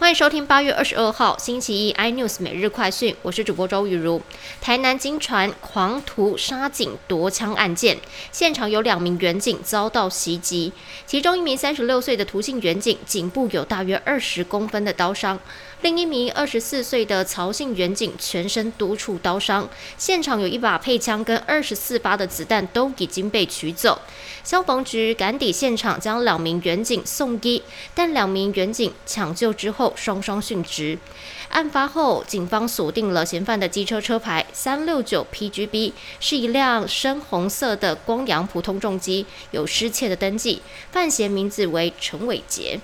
欢迎收听8月22号星期一 iNews 每日快讯，我是主播周雨茹。台南金传狂徒杀警夺枪案件，现场有2名员警遭到袭击，其中1名36岁的涂姓员警颈部有大约20公分的刀伤，另一名24岁的曹姓员警全身多处刀伤。现场有1把配枪跟24发的子弹都已经被取走。消防局赶抵现场，将2名员警送医，但2名员警抢救之后双双殉职。案发后，警方锁定了嫌犯的机车车牌369 PGB， 是一辆深红色的光阳普通重机，有失窃的登记，犯嫌名字为陈伟杰。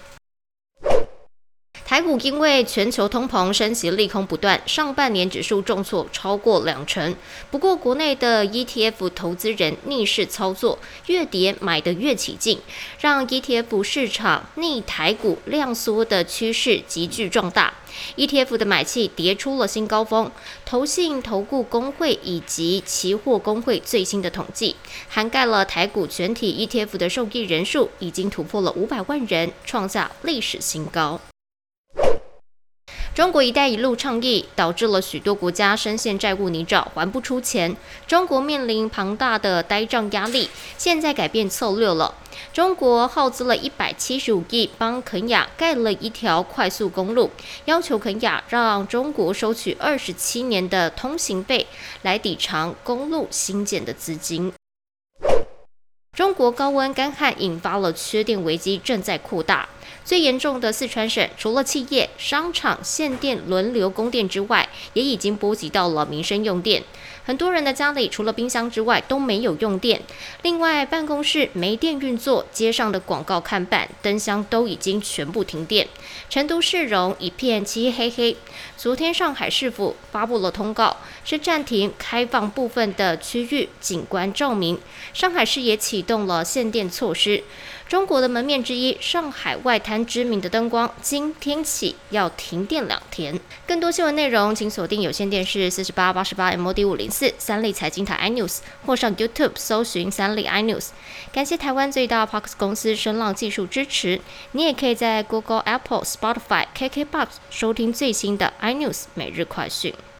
台股因为全球通膨升息利空不断，上半年指数重挫超过2成。不过，国内的 ETF 投资人逆势操作，越跌买得越起劲，让 ETF 市场逆台股量缩的趋势急剧壮大。ETF 的买气跌出了新高峰，投信、投顾公会以及期货公会最新的统计，涵盖了台股全体 ETF 的受益人数已经突破了500万人，创下历史新高。中国“一带一路”倡议导致了许多国家深陷债务泥沼，还不出钱。中国面临庞大的呆账压力，现在改变策略了。中国耗资了175亿，帮肯亚盖了一条快速公路，要求肯亚让中国收取27年的通行费，来抵偿公路兴建的资金。中国高温干旱引发了缺电危机，正在扩大。最严重的四川省，除了企业、商场限电轮流供电之外，也已经波及到了民生用电。很多人的家里除了冰箱之外都没有用电。另外，办公室没电运作，街上的广告看板、灯箱都已经全部停电。成都市容一片漆黑黑。昨天，上海市府发布了通告，是暂停开放部分的区域景观照明。上海市也启动了限电措施。中国的门面之一，上海外滩知名的灯光，今天起要停电2天。更多新闻内容，请锁定有线电视48、88 MOD 504三立财经台 iNews， 或上 YouTube 搜寻三立 iNews。感谢台湾最大 Podcast 公司声浪技术支持。你也可以在 Google、Apple、Spotify、KKBox 收听最新的iNews 每日快讯。